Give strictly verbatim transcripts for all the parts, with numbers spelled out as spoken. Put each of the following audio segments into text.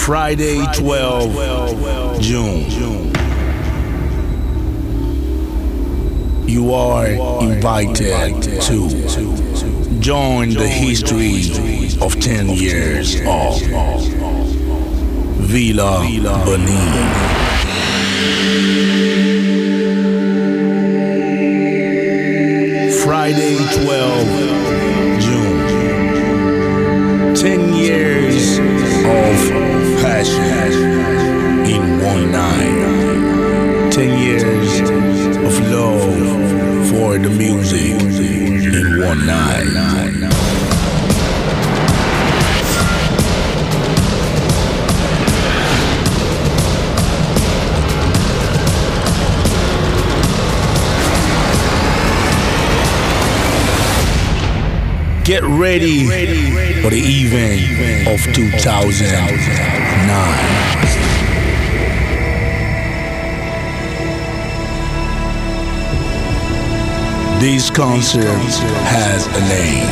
Friday, twelfth June. You are invited to join the history of ten years of Villa Benin. Friday, twelfth June. Ten years of passion in one night. Ten years of love for the music in one night. Get ready for the event of two thousand nine. This concert has a name.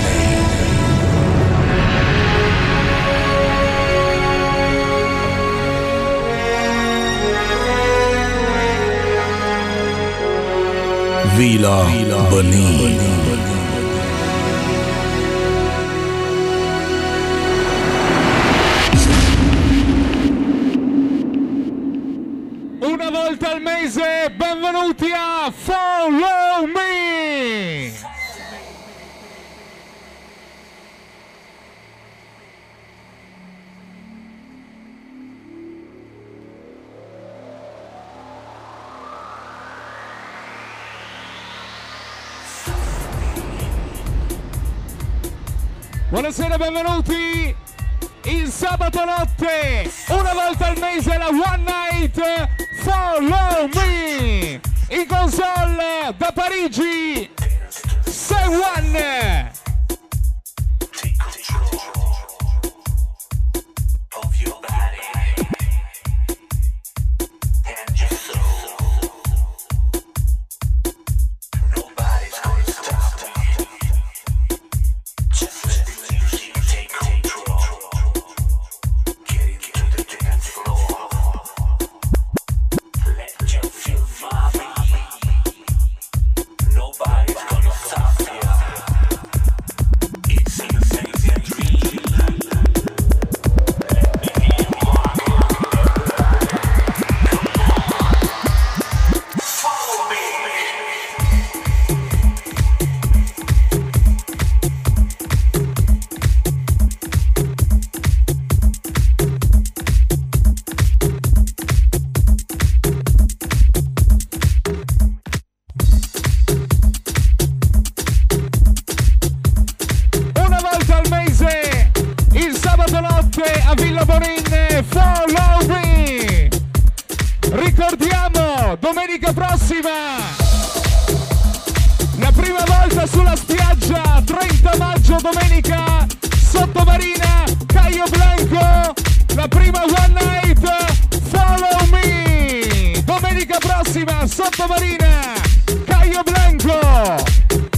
Villa Benin. Una volta al mese, benvenuti a Follow Me! Buonasera, benvenuti! Il sabato notte, una volta al mese, la One Night Follow Me, in console da Parigi, Say One. A Villa Benin, Follow Me. Ricordiamo, domenica prossima, la prima volta sulla spiaggia, trenta maggio, domenica, Sottomarina, Caio Blanco, la prima One Night Follow Me. Domenica prossima, Sottomarina, Caio Blanco.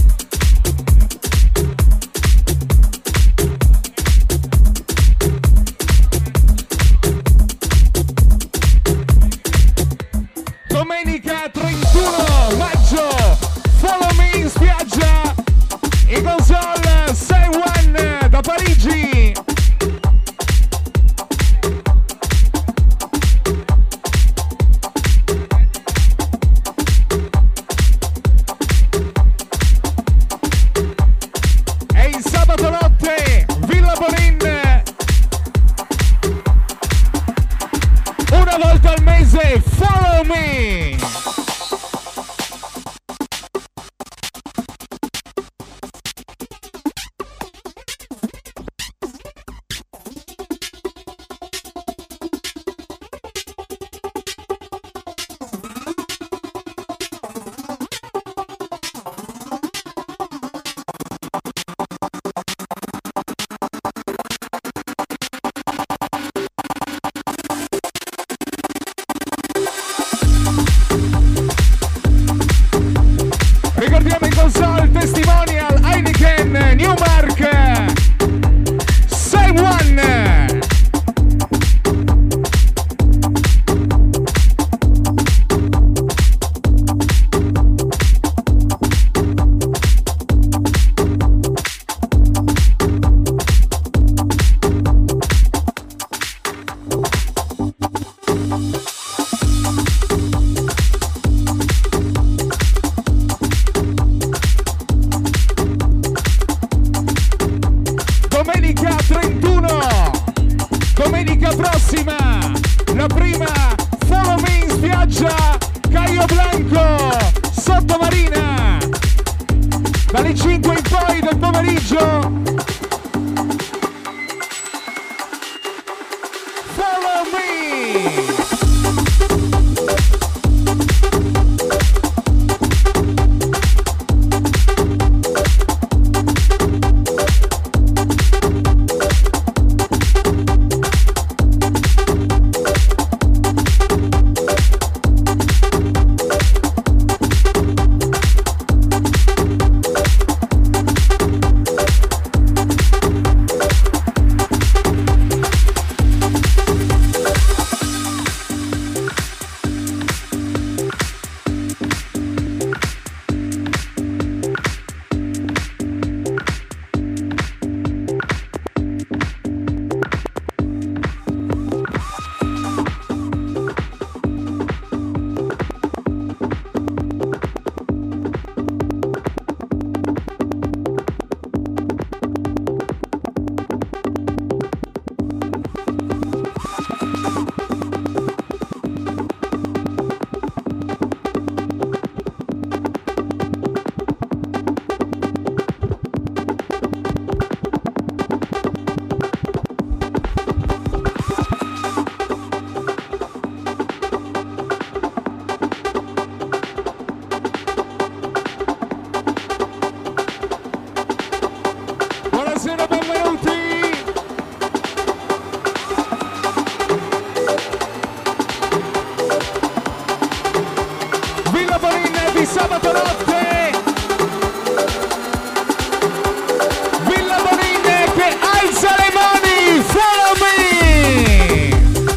Domenica trentuno maggio, Follow Me in spiaggia, in console Say One da Parigi. E il sabato notte, Villa Benin, una volta al mese, Follow Me. sabato notte, Villa Bonine che alza le mani, follow me!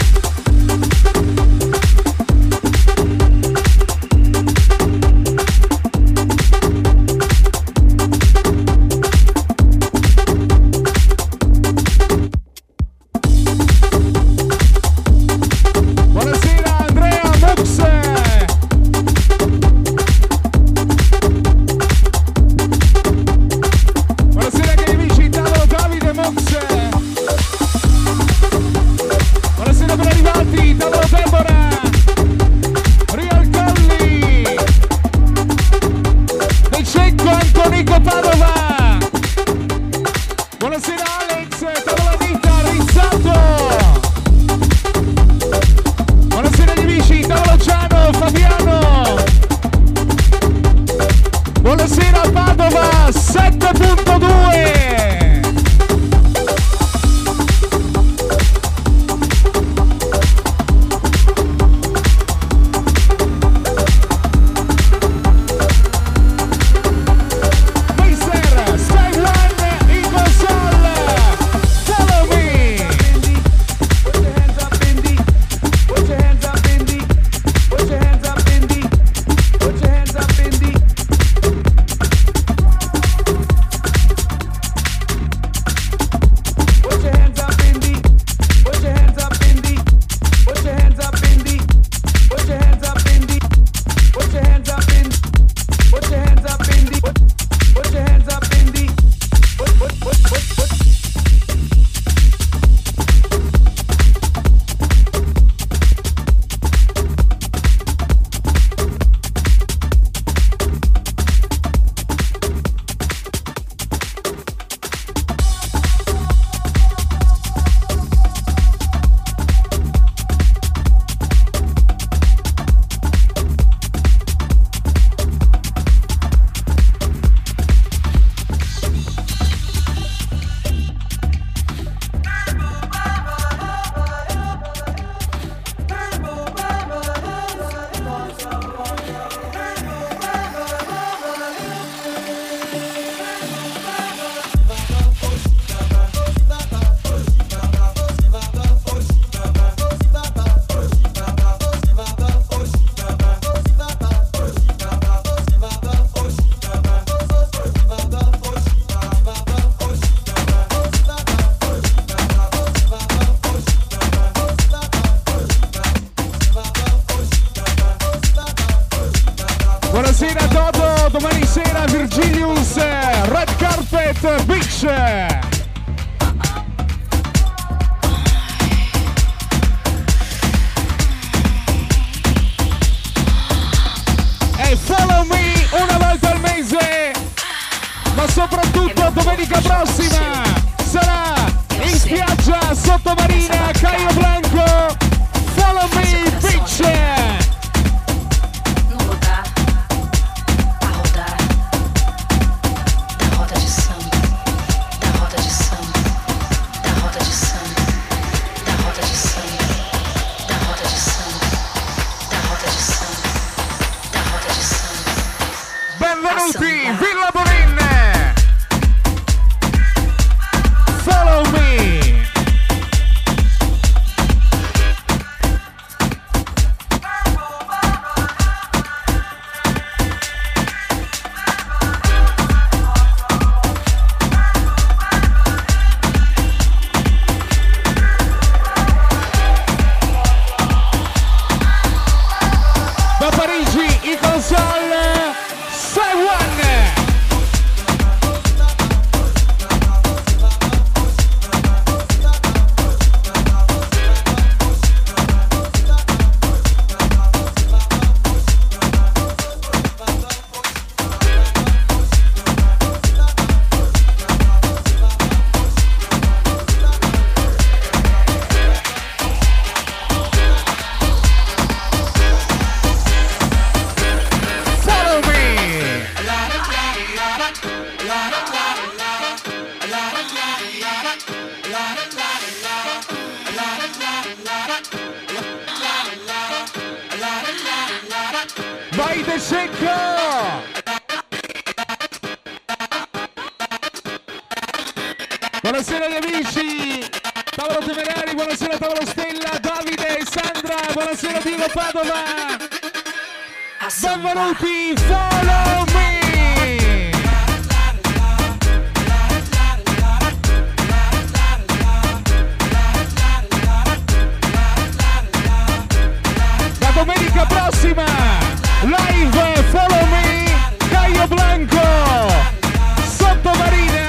Buonasera Dodo, domani sera Virgilius, Red Carpet Beach. E follow me una volta al mese, ma soprattutto domenica prossima sarà in spiaggia sottomarina Caio Blanco. Follow me Beach. Villa Bonine, follow me. Vai De Secco! Buonasera agli amici! Tavolo Temerari, buonasera Tavolo Stella, Davide e Sandra, buonasera Diego Padova! Benvenuti, follow me! La domenica prossima, live, follow me, Caio Blanco, Sottomarina!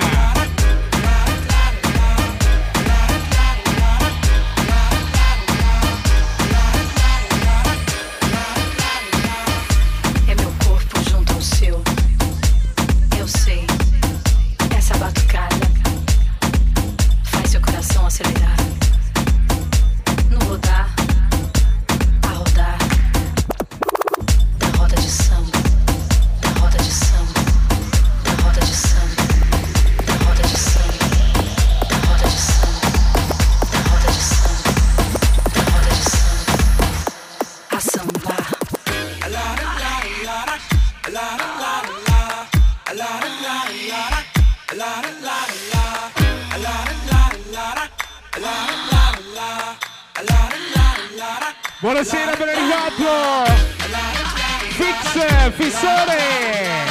Buonasera, ben arrivato! Fix, Fissore!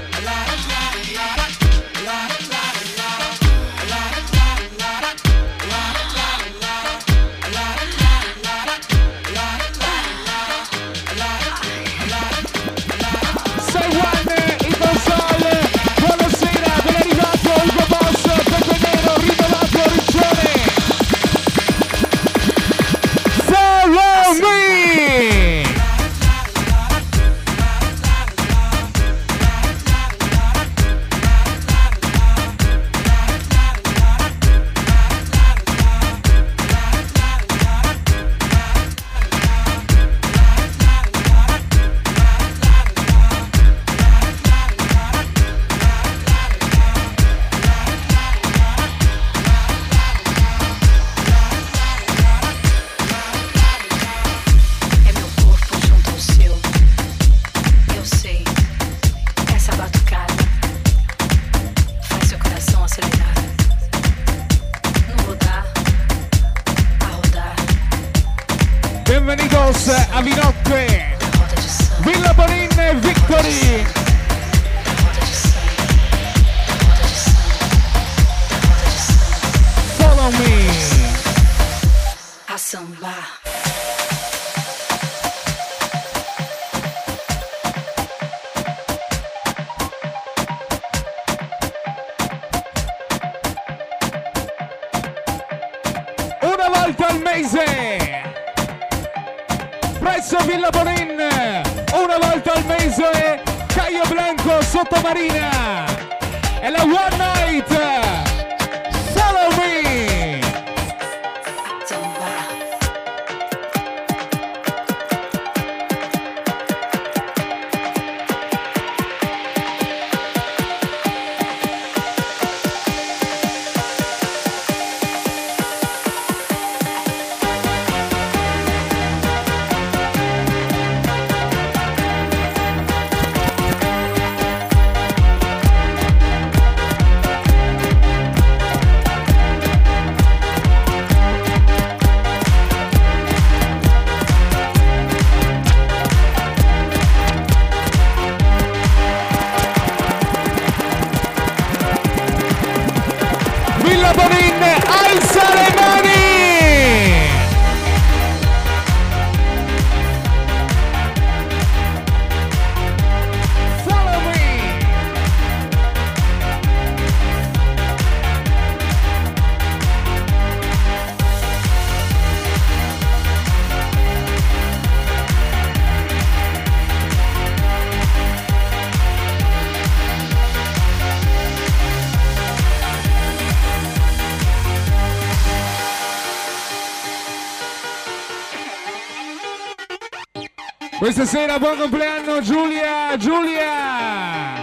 Bienvenidos a Vinocque, Villa Bonin Victory. Follow me. A samba. Una volta al mese. Presso Villa Bonin, una volta al mese, Caio Blanco, Sottomarina, e la One Night, follow me! Questa sera buon compleanno Giulia, Giulia!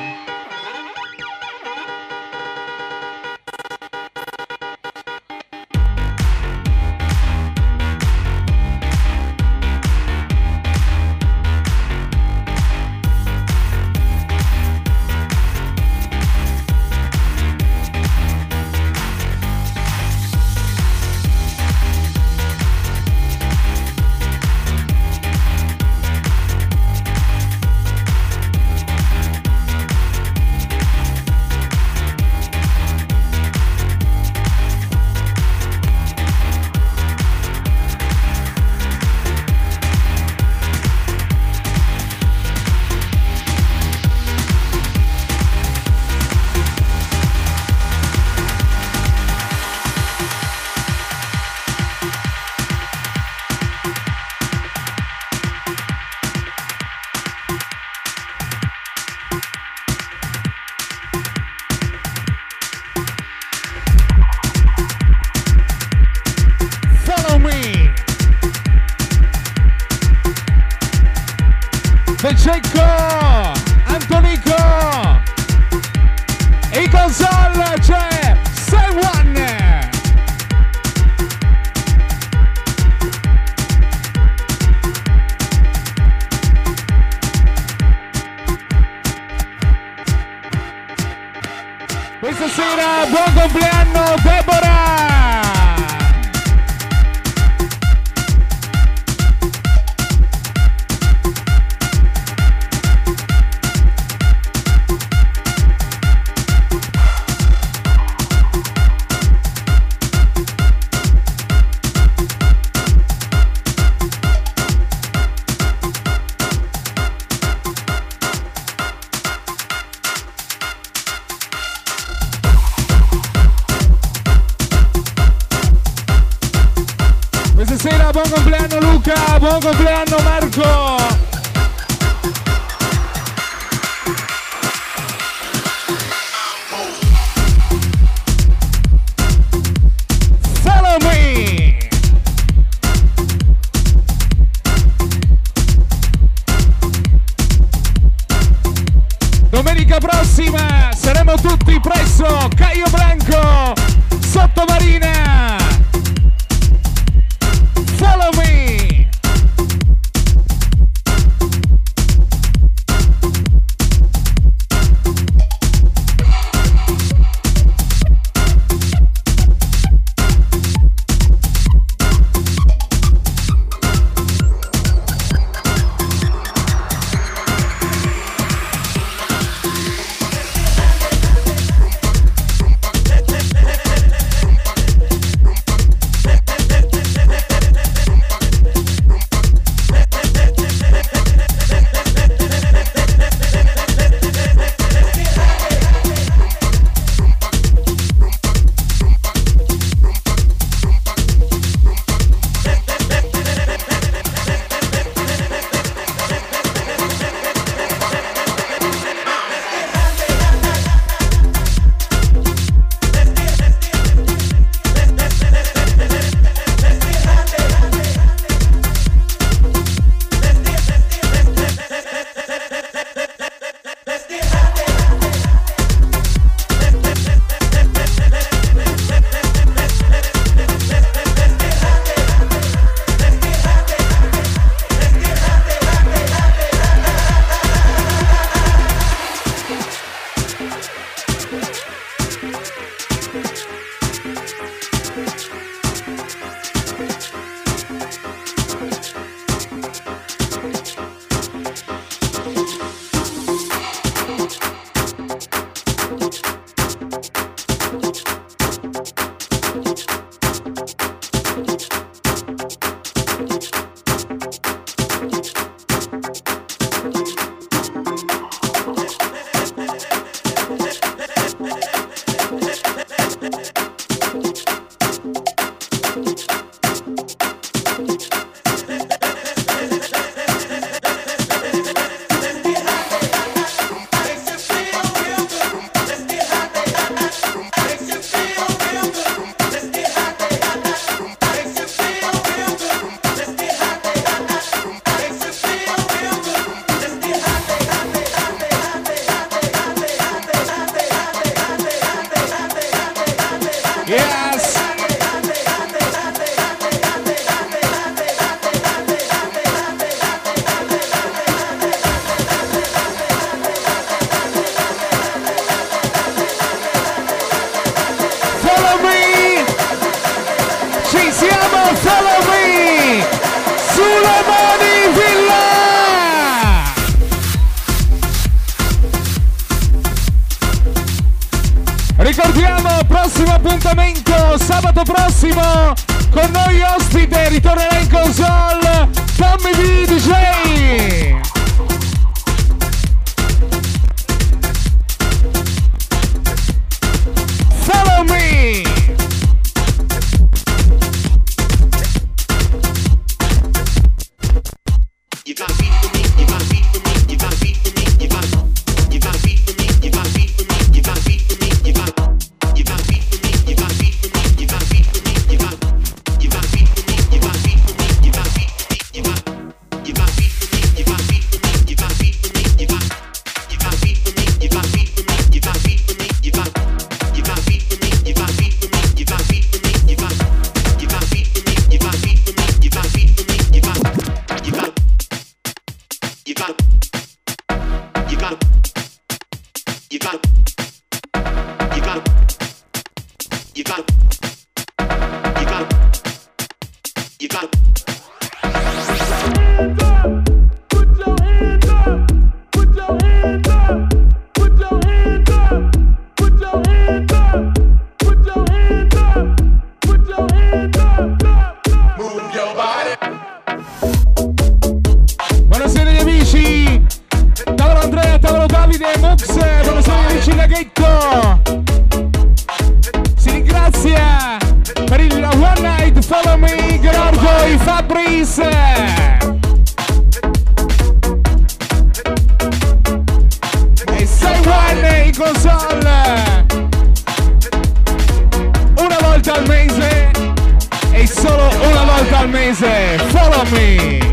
Cecco, Antonico, e in console c'è Sam One. Questa sera buon compleanno Deborah! Stasera buon compleanno Luca, buon compleanno Marco. Follow me. Domenica prossima saremo tutti presso Caio Blanco, Sottomarina. Follow me! Yes! Follow me! Ci siamo, follow me! Sulle mani Villa! Ricordiamo, prossimo appuntamento sabato prossimo con noi ospite, ritornerà in console Tommy V D J. Follow me. You gotta beat for me, you gotta beat for me, you gotta beat for me, you gotta you gotta beat for me, you gotta beat for me, you gotta beat for me, you gotta you gotta beat for me, you gotta beat for me, you gotta beat for me, you gotta you gotta beat for me, you gotta beat for me, you gotta beat for me, you gotta you gotta beat for me, you gotta beat for me, you gotta beat you got you got you got you got you got you got you got Put your hands up, put your hands up, put your hands up, put your hands up, put your hands up, put your hands up, move your body. Buonasera gli amici, tavolo Andrea, tavolo Davide, Mux, buonasera gli amici Laghetto. Si ringrazia per il One Night Follow Me, Gerardo e Fabrice. E sei One in console. Una volta al mese e solo una volta al mese. Follow Me.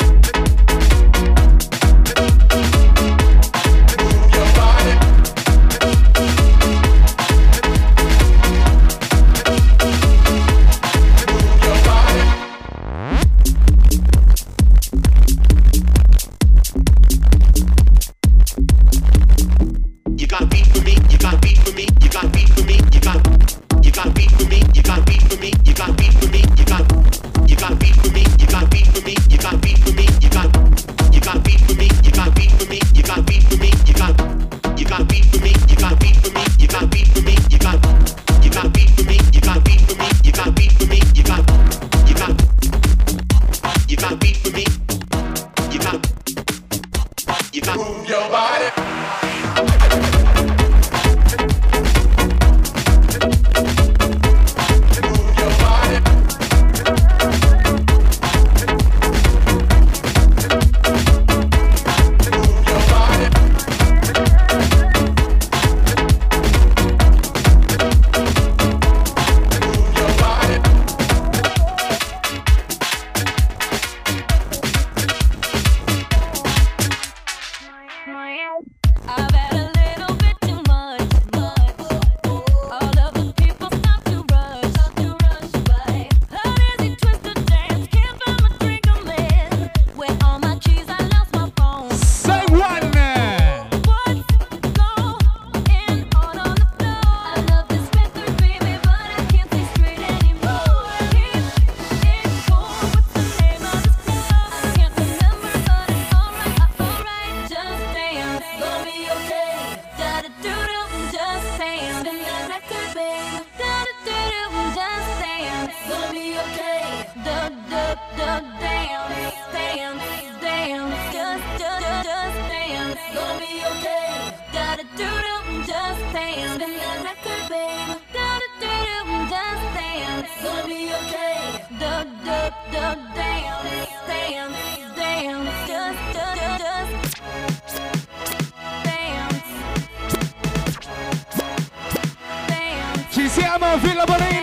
Ci siamo, Villa Bonin!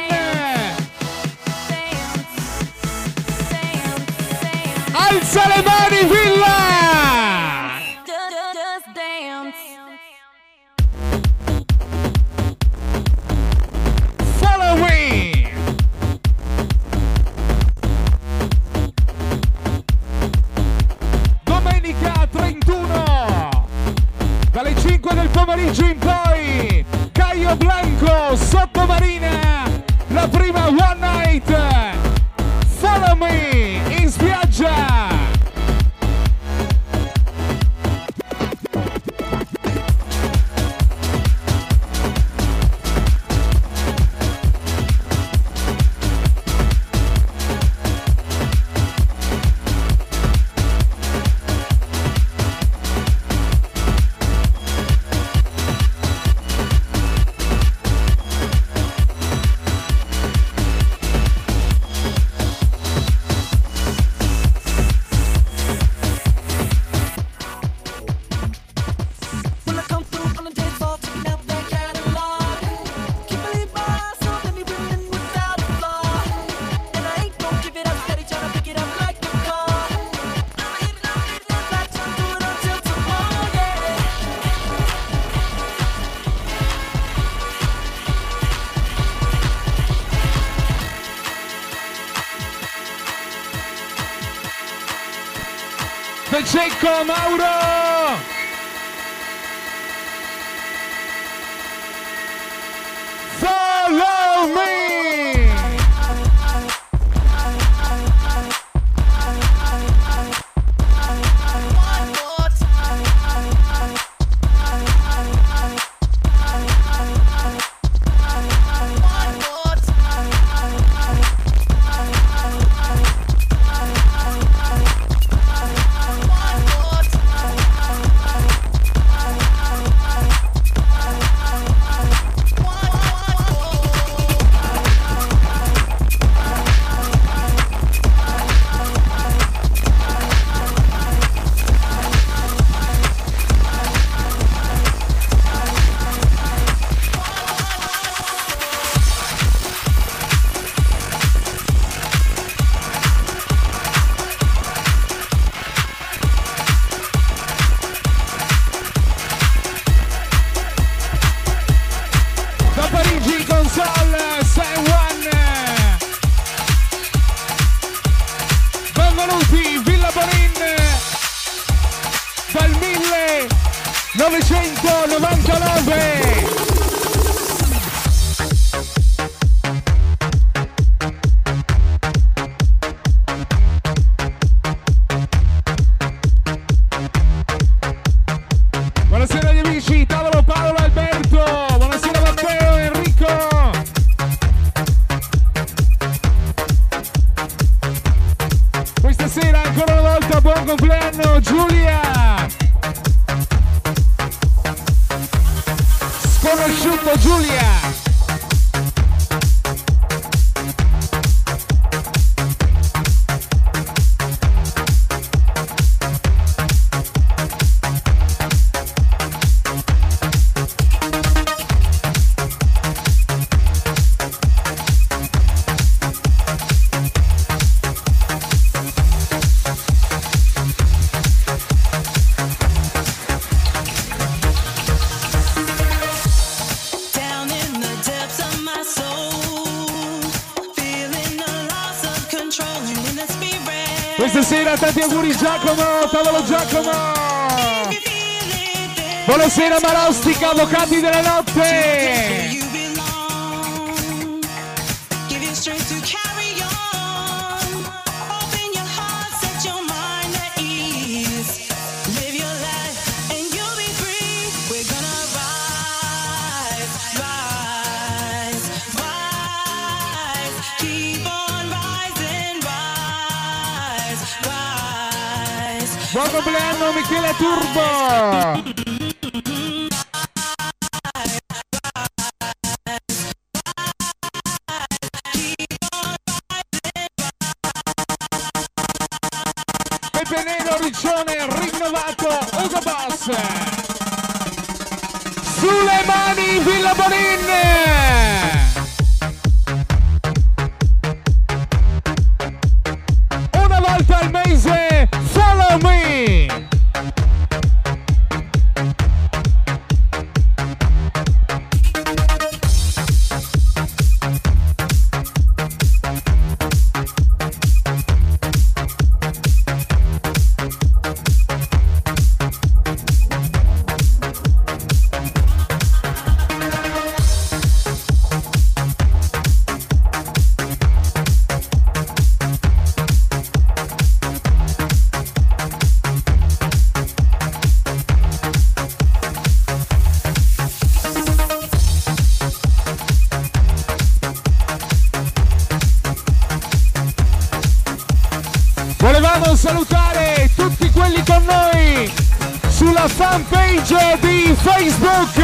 Alza le mani, Villa! Follow me! Domenica trentuno, dalle cinque del pomeriggio in poi, Caio Blanco, Sottomarina, Cecco, Mauro! Follow me! Questa sera tanti auguri Giacomo, tavolo Giacomo! Buonasera Marostica, avvocati della notte! Buon compleanno Michele Turbo! Pepe Nero, Riccione, rinnovato, Ugo Boss! Sulle mani Villa Bonin! Una volta al mese, follow me! Volevamo salutare tutti quelli con noi sulla fanpage di Facebook.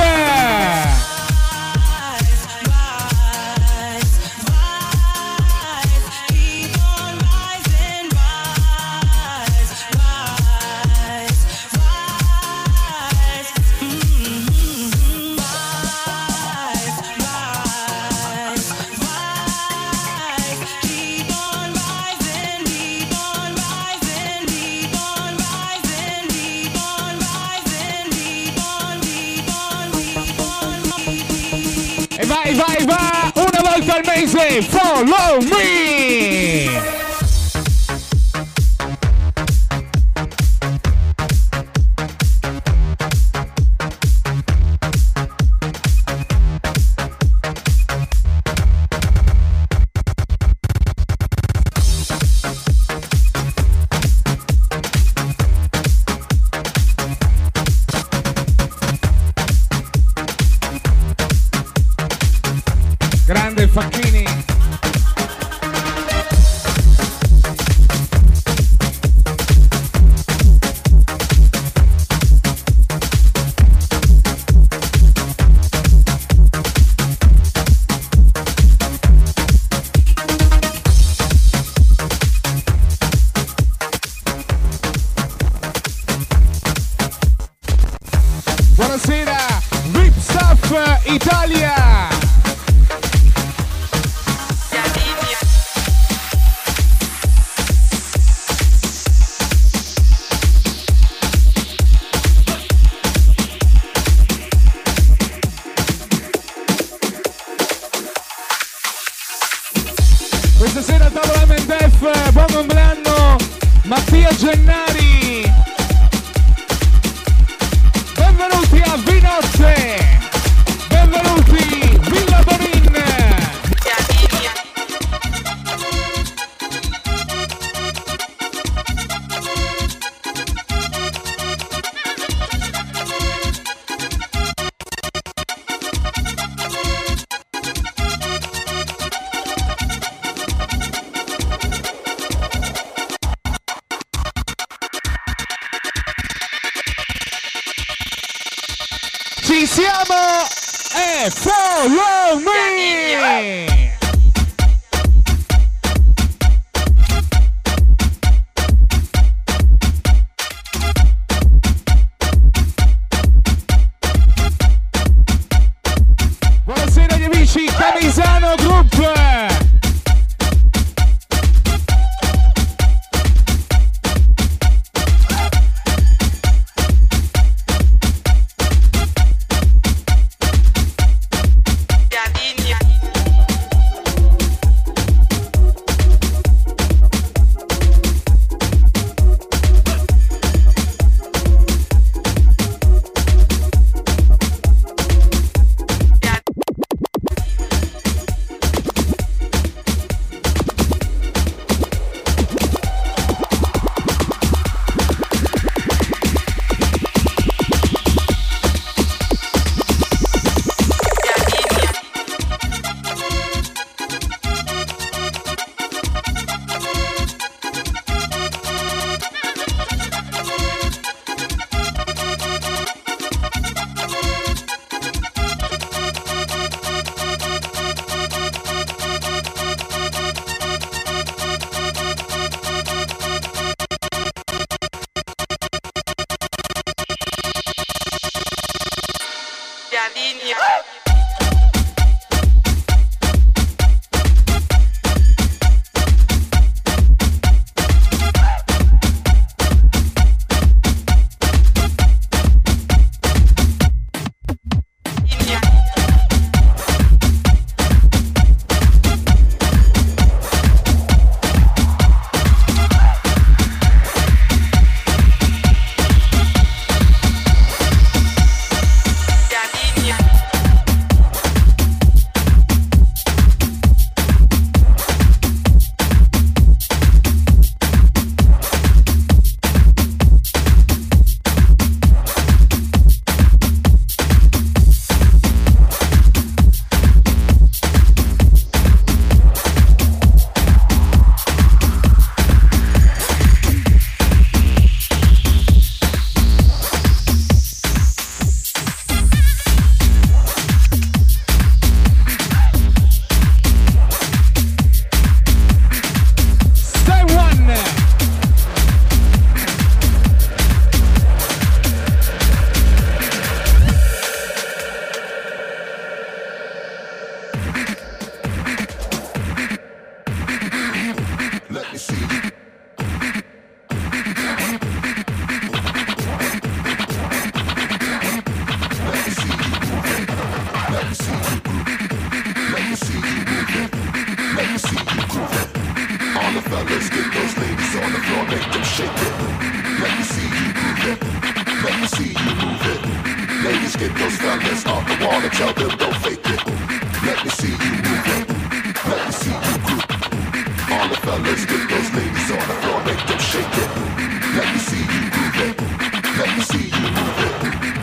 Vai, vai, va! Una volta al mese, follow me! Facchini. Buonasera, Rip Stuff Italia. Questa sera a tavola M D F, buon compleanno Mattia Gennari. Benvenuti a Vinotte. Benvenuti Villa Bonin. Ci siamo e follow me! Buonasera agli amici Camisano Group!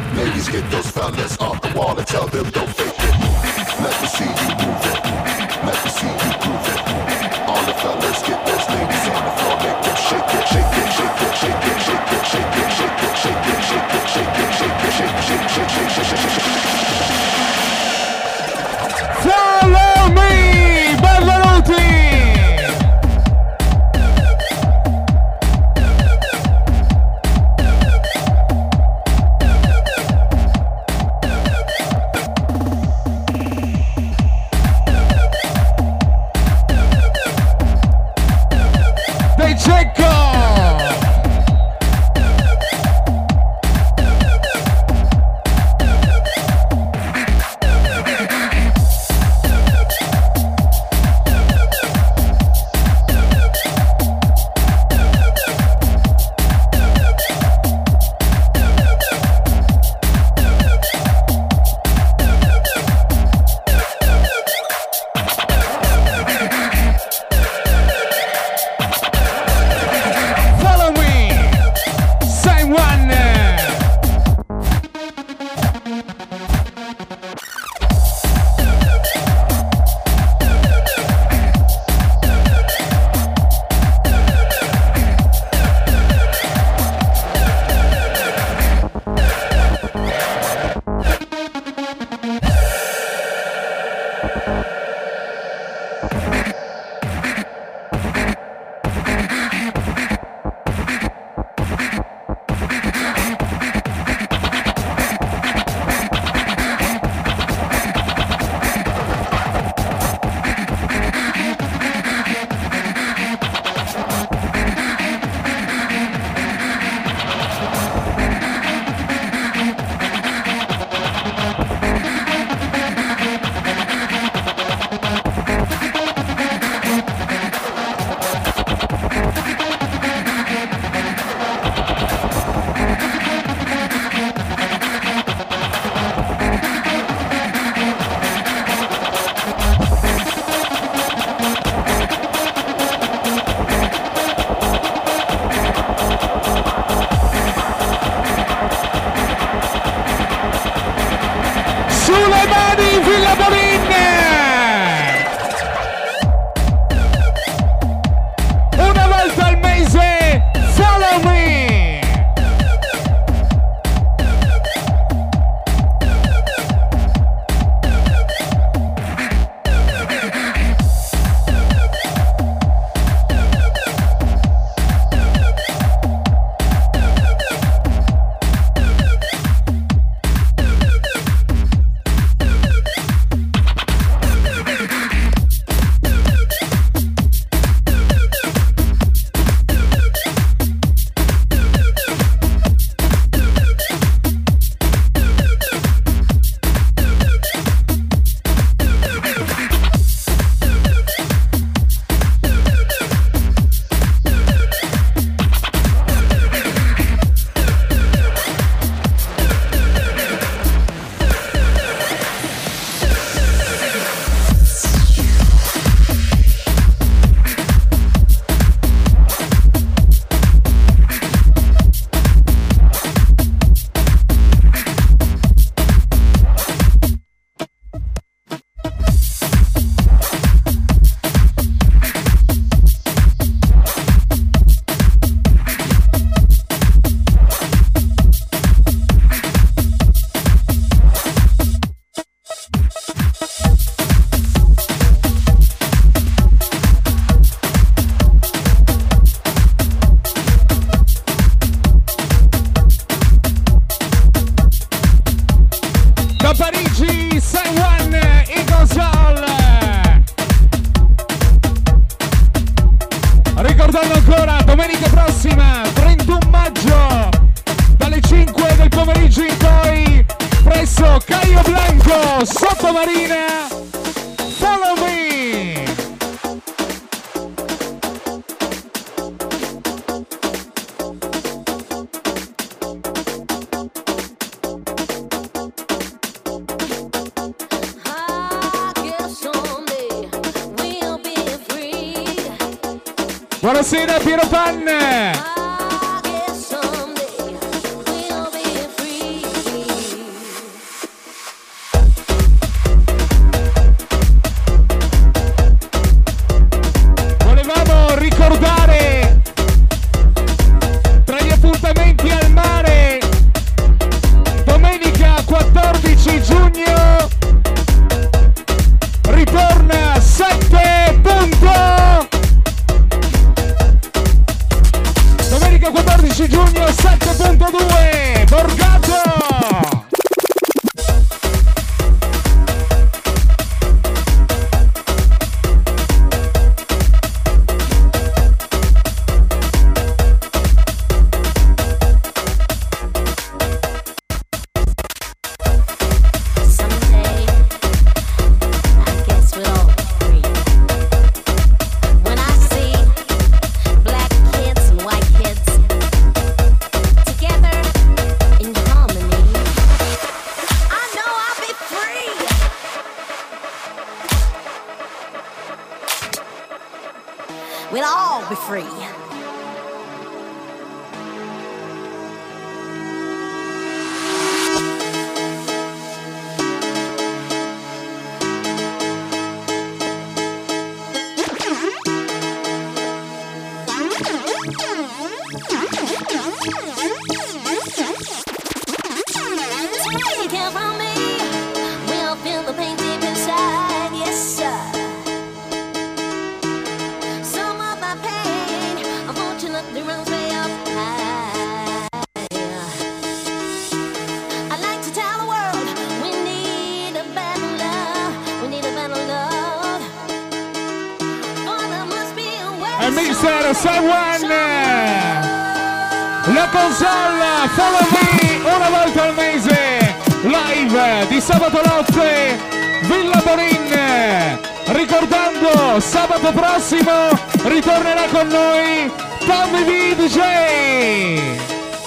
Get those fellas off the wall and tell them don't fake it. Let me see you move it. Blanco, Caio Blanco, Sottomarina, Follow Me. Buonasera Piero Pan. Volevamo ricordare tra gli appuntamenti al mare domenica quattordici giugno ritorna sette punto. Domenica quattordici giugno sette punto due Borgato. We'll all be free. You can't find me. We'll feel the pain deep inside. Yes, sir. Some of my pain, unfortunately, runs way up high. I'd like to tell the world we need a better love. We need a better love. Oh, there must be a way. E mister Sawan, la console Follow Me una volta al mese, live di sabato notte, Villa Bonin. Ricordando, sabato prossimo ritornerà con noi Tommy V D J.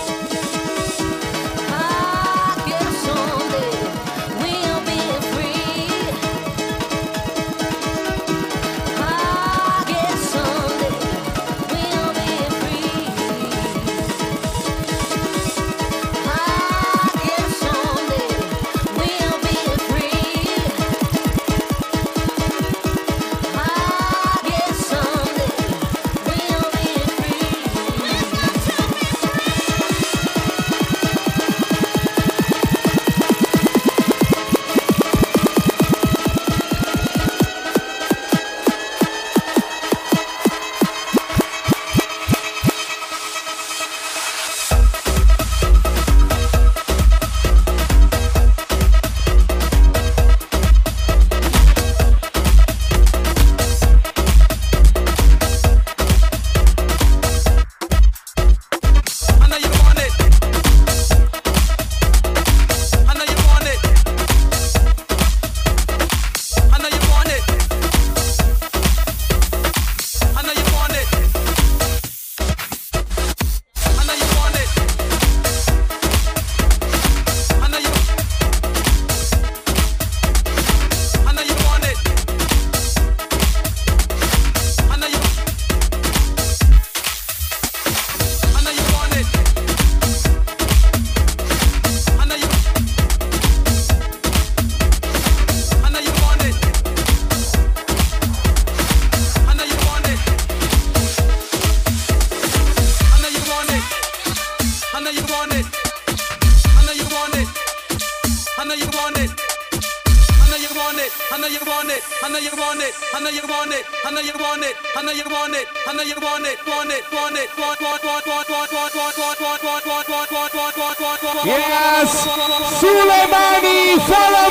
Yes, sulle mani, follow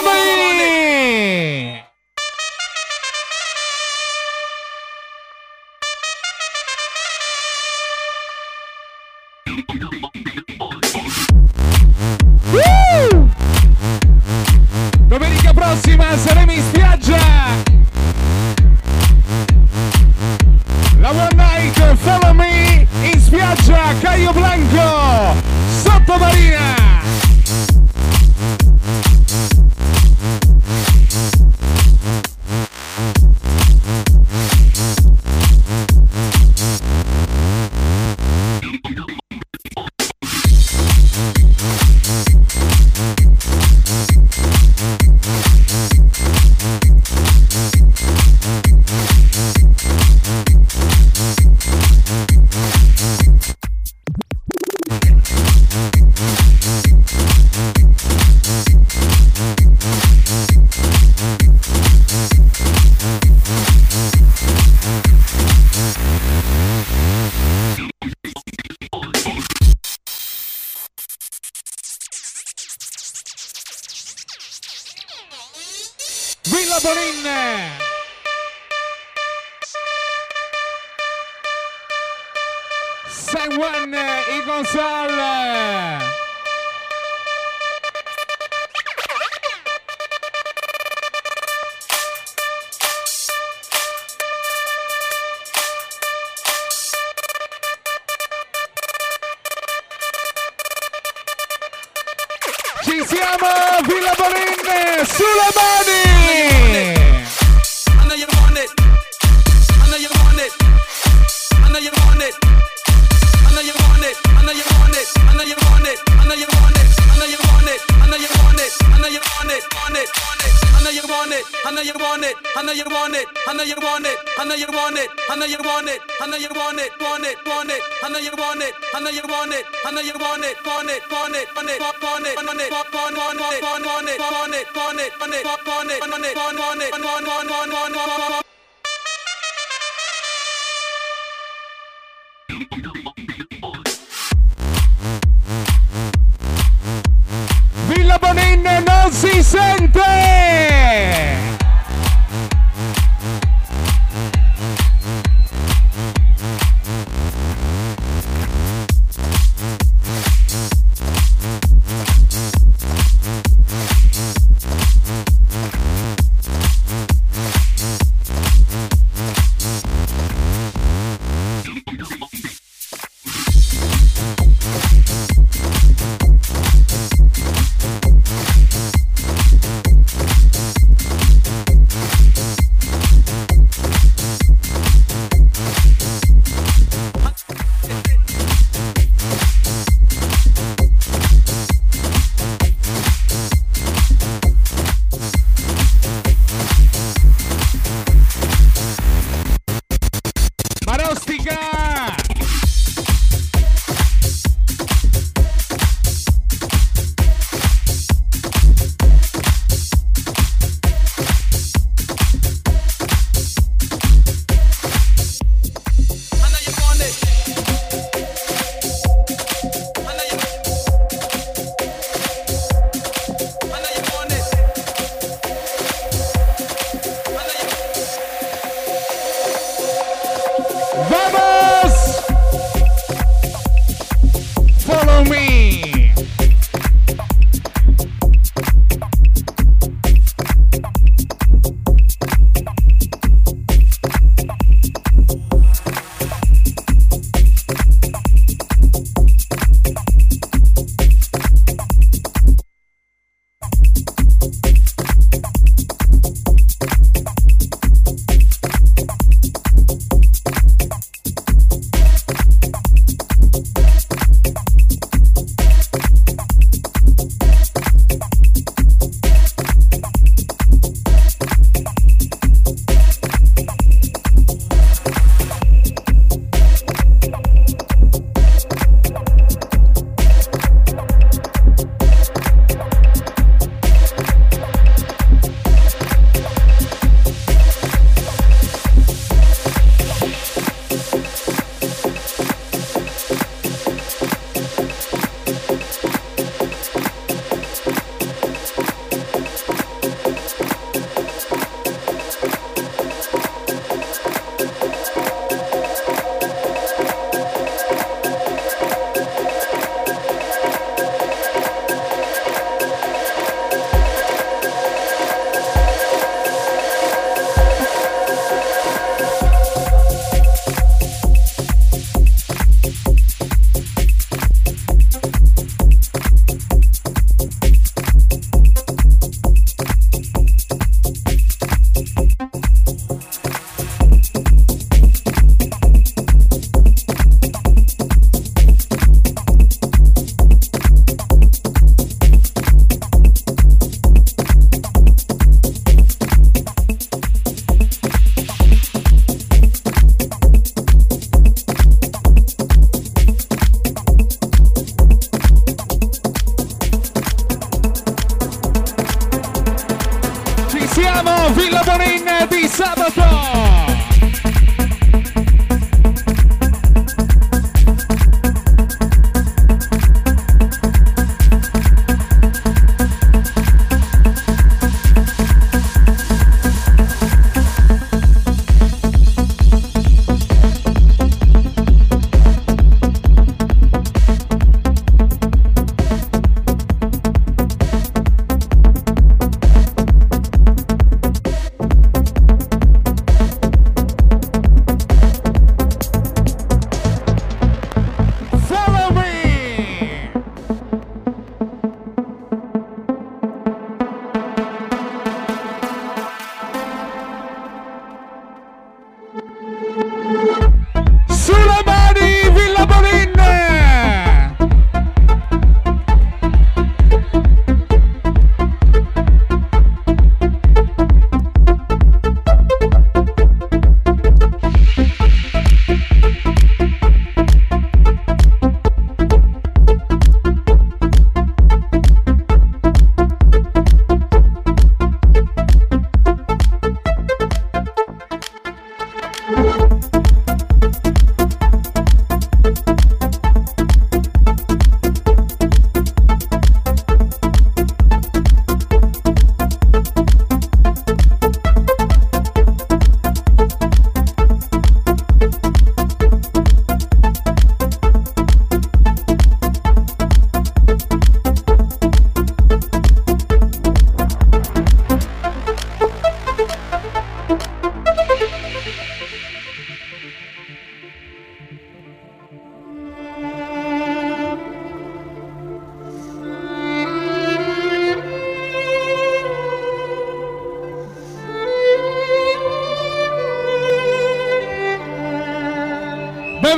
me. Woo! Villa Bonin. San Juan y González. Ci siamo, Villa Bonin, sulle mani! I know you want it. I know you want it. I know you want it. I know you want it. I know you want it. I know you want it. I know you want it. I know you want it. I know you want it. I know you want it. Want it. Want it. I know you want it. I know you want it. I know you want it. I know you want it. I know you want it. I know you want it. I know you want it. Want it. Want it. I know you want it. I know you want it. I know you want it. Want it. Want it. Want it. Want it. Want it. Want it. Want it. Want it. Want it. Want it. Want it. Want it. Want it. Want it. Want it. Want it. Want it. Want it. Villa Bonin non si sente!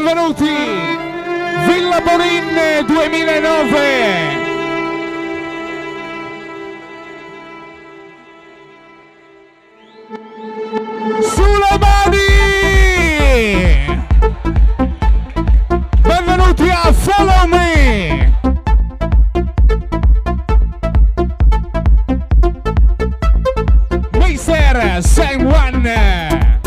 benvenuti! Villa Bonin duemilanove! Sulle mani! Benvenuti a Follow Me! mister San Juan!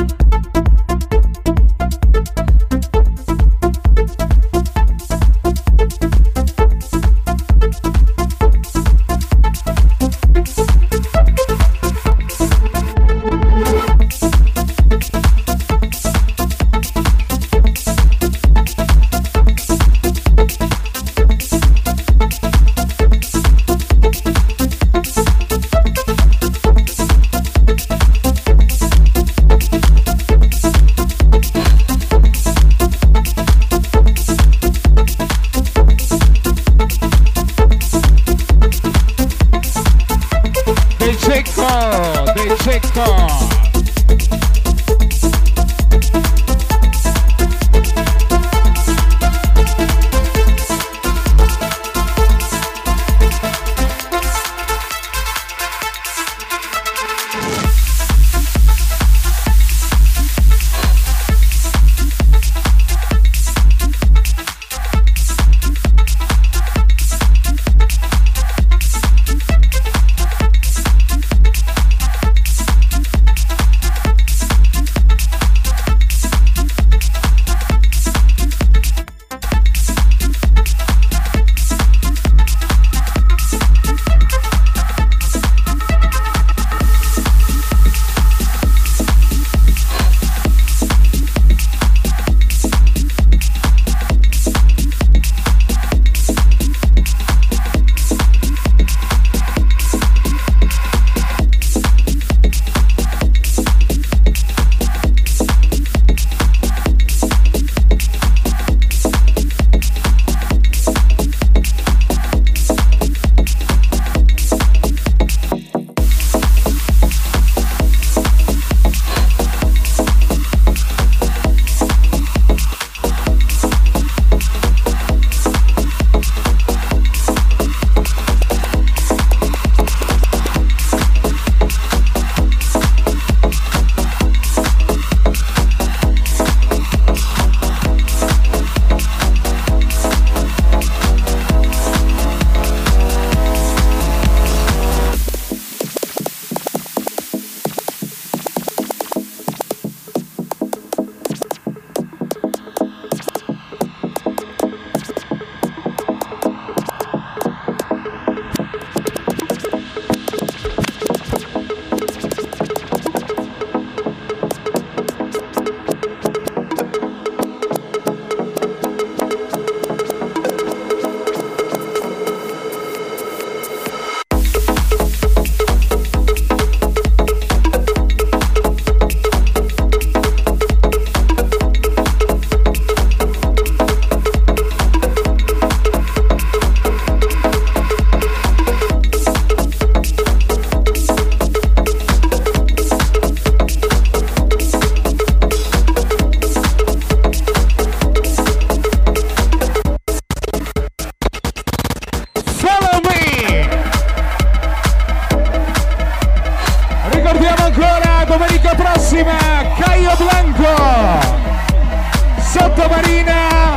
Sottomarina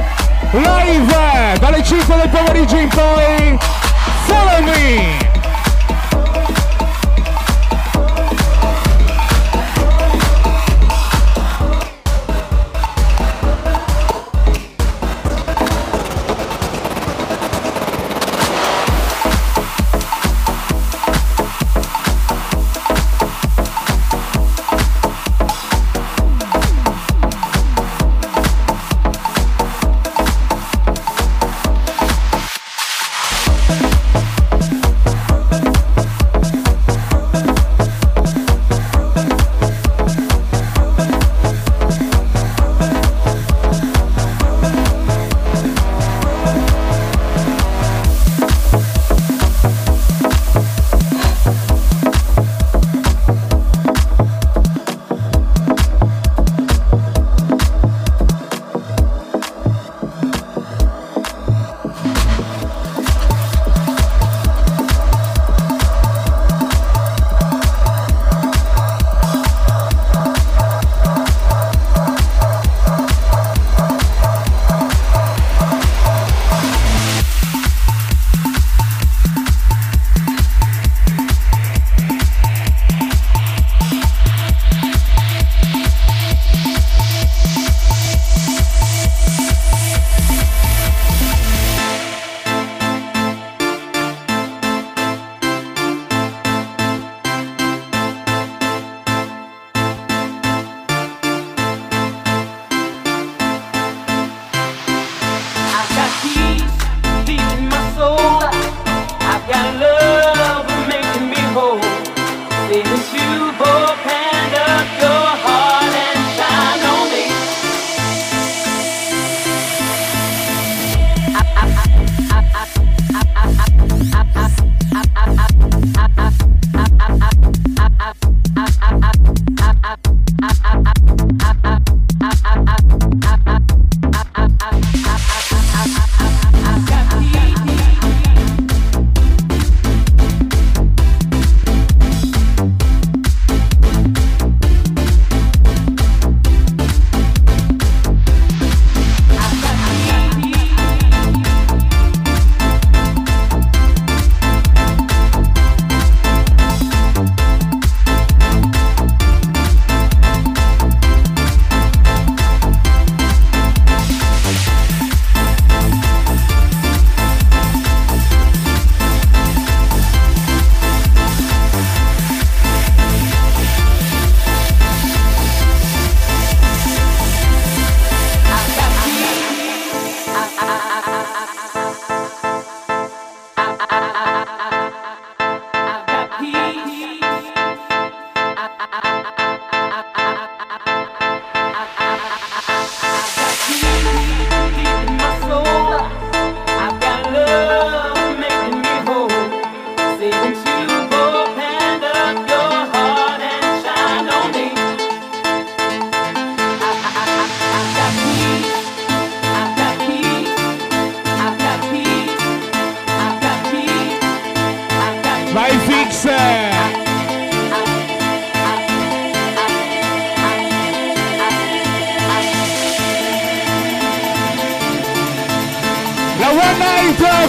live dalle cinque del pomeriggio in poi. Follow me.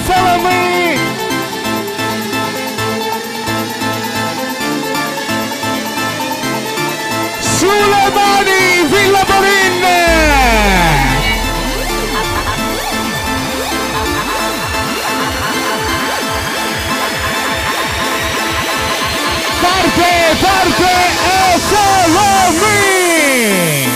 follow me. Sulle mani, Villa Borin. Parte, parte e follow me.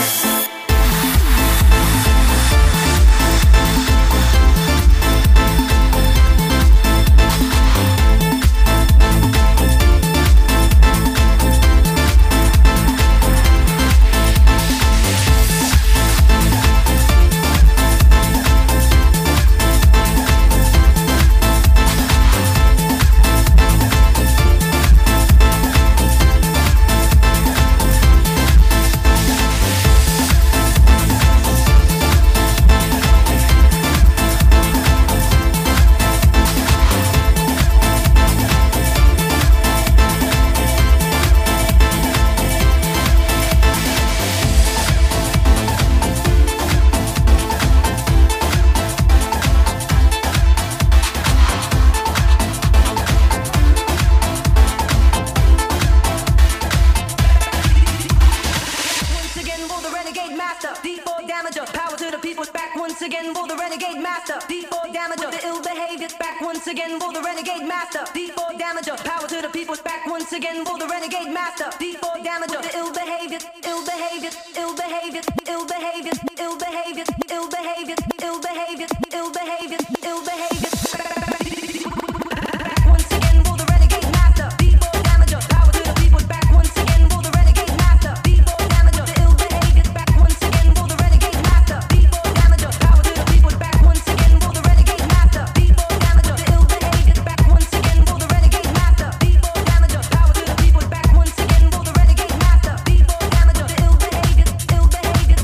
Ill behavior,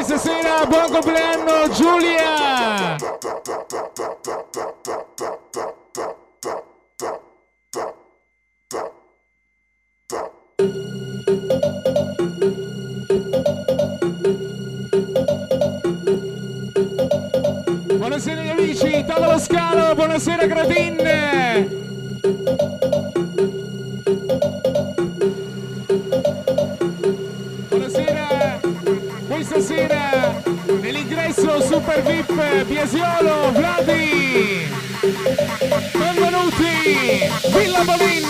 Questa sera buon compleanno Giulia! Buonasera agli amici, tavolo scalo, buonasera Gradin! Buonasera, questa sera nell'ingresso Super V I P Biasiolo, Vladi! Benvenuti, Villa Bolin!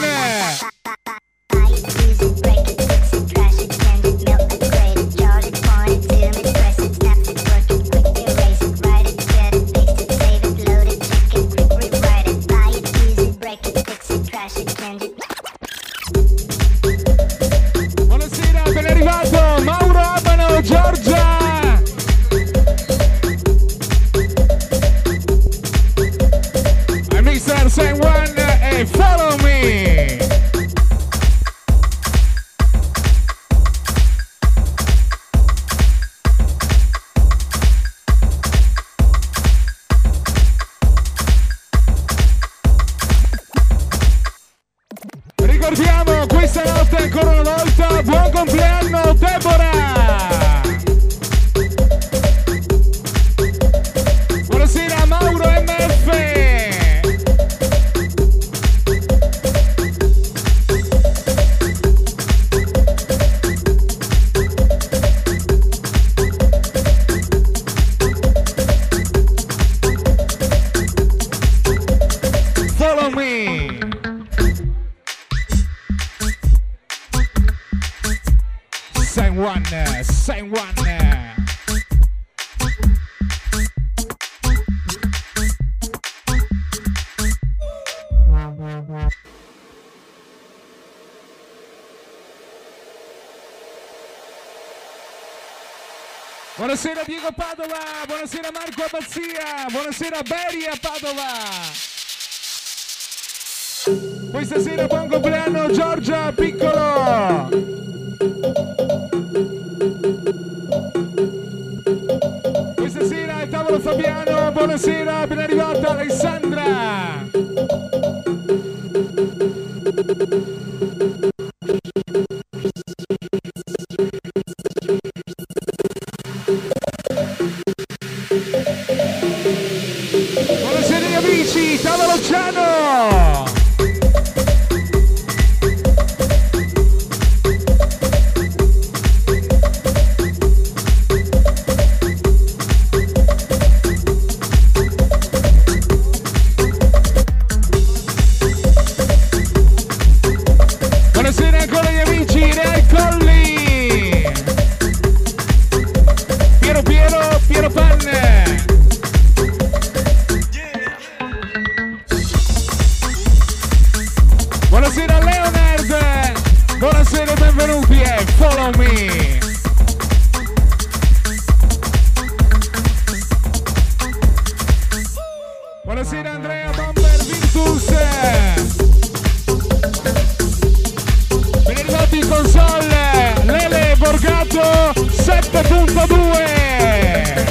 Buonasera, ben arrivato Mauro Abano, Giorgia! I'm mister San Juan e Follow Me! Ricordiamo questa notte ancora una volta, buon compleanno Deborah! Buonasera Mauro M F! Follow me! San Juan, San Juan. Buonasera Diego Padova, buonasera Marco Abbazia, buonasera Beri a Padova. Questa sera buon compleanno Giorgia Piccolo. Questa sera è tavolo Fabiano, buonasera, ben arrivata Alessandra. Buonasera gli amici, tavolo Ciano. Buonasera ancora gli amici, Real Colli. Piero Piero, Piero Panne. Buonasera Leonard, buonasera e benvenuti e Follow Me. Buonasera Andrea Bomber Virtus. Ben arrivati in console, Lele Borgato sette punto due.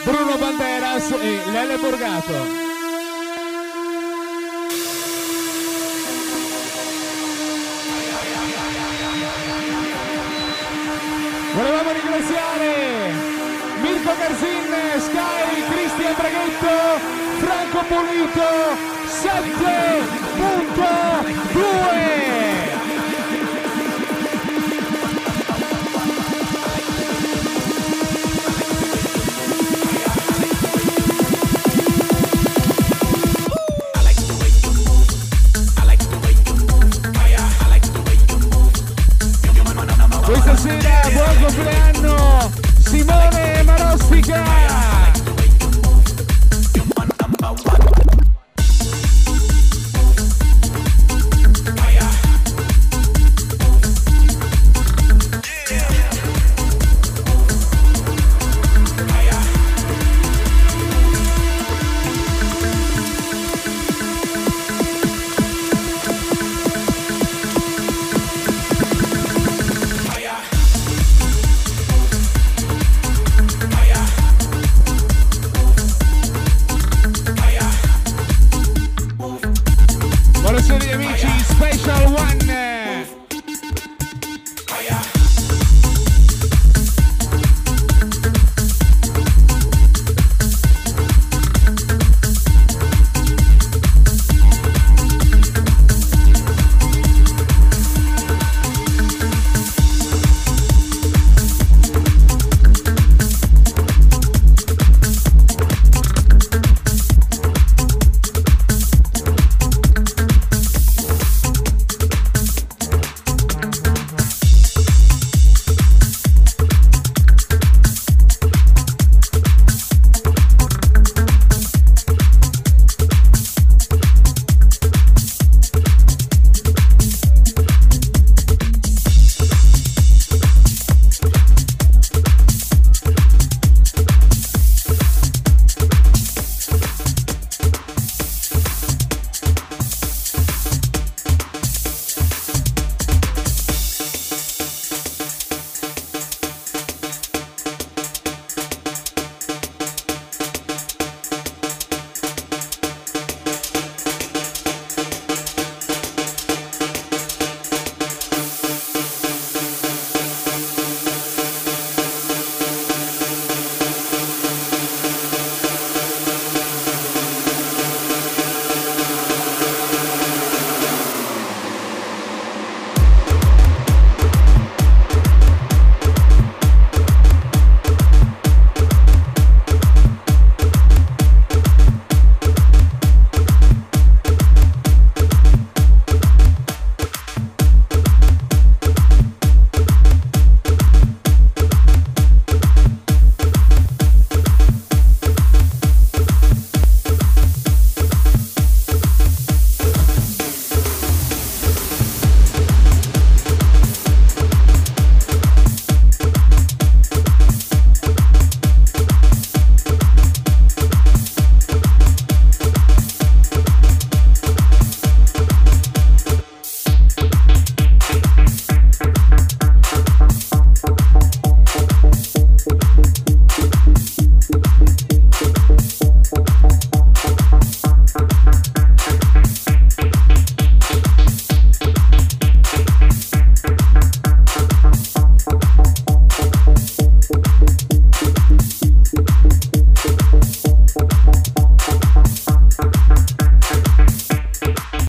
Bruno Banderas e Lele Borgato. Volevamo ringraziare Mirko Garzin, Sky, Cristian Braghetto, Franco Pulito, sette punto due.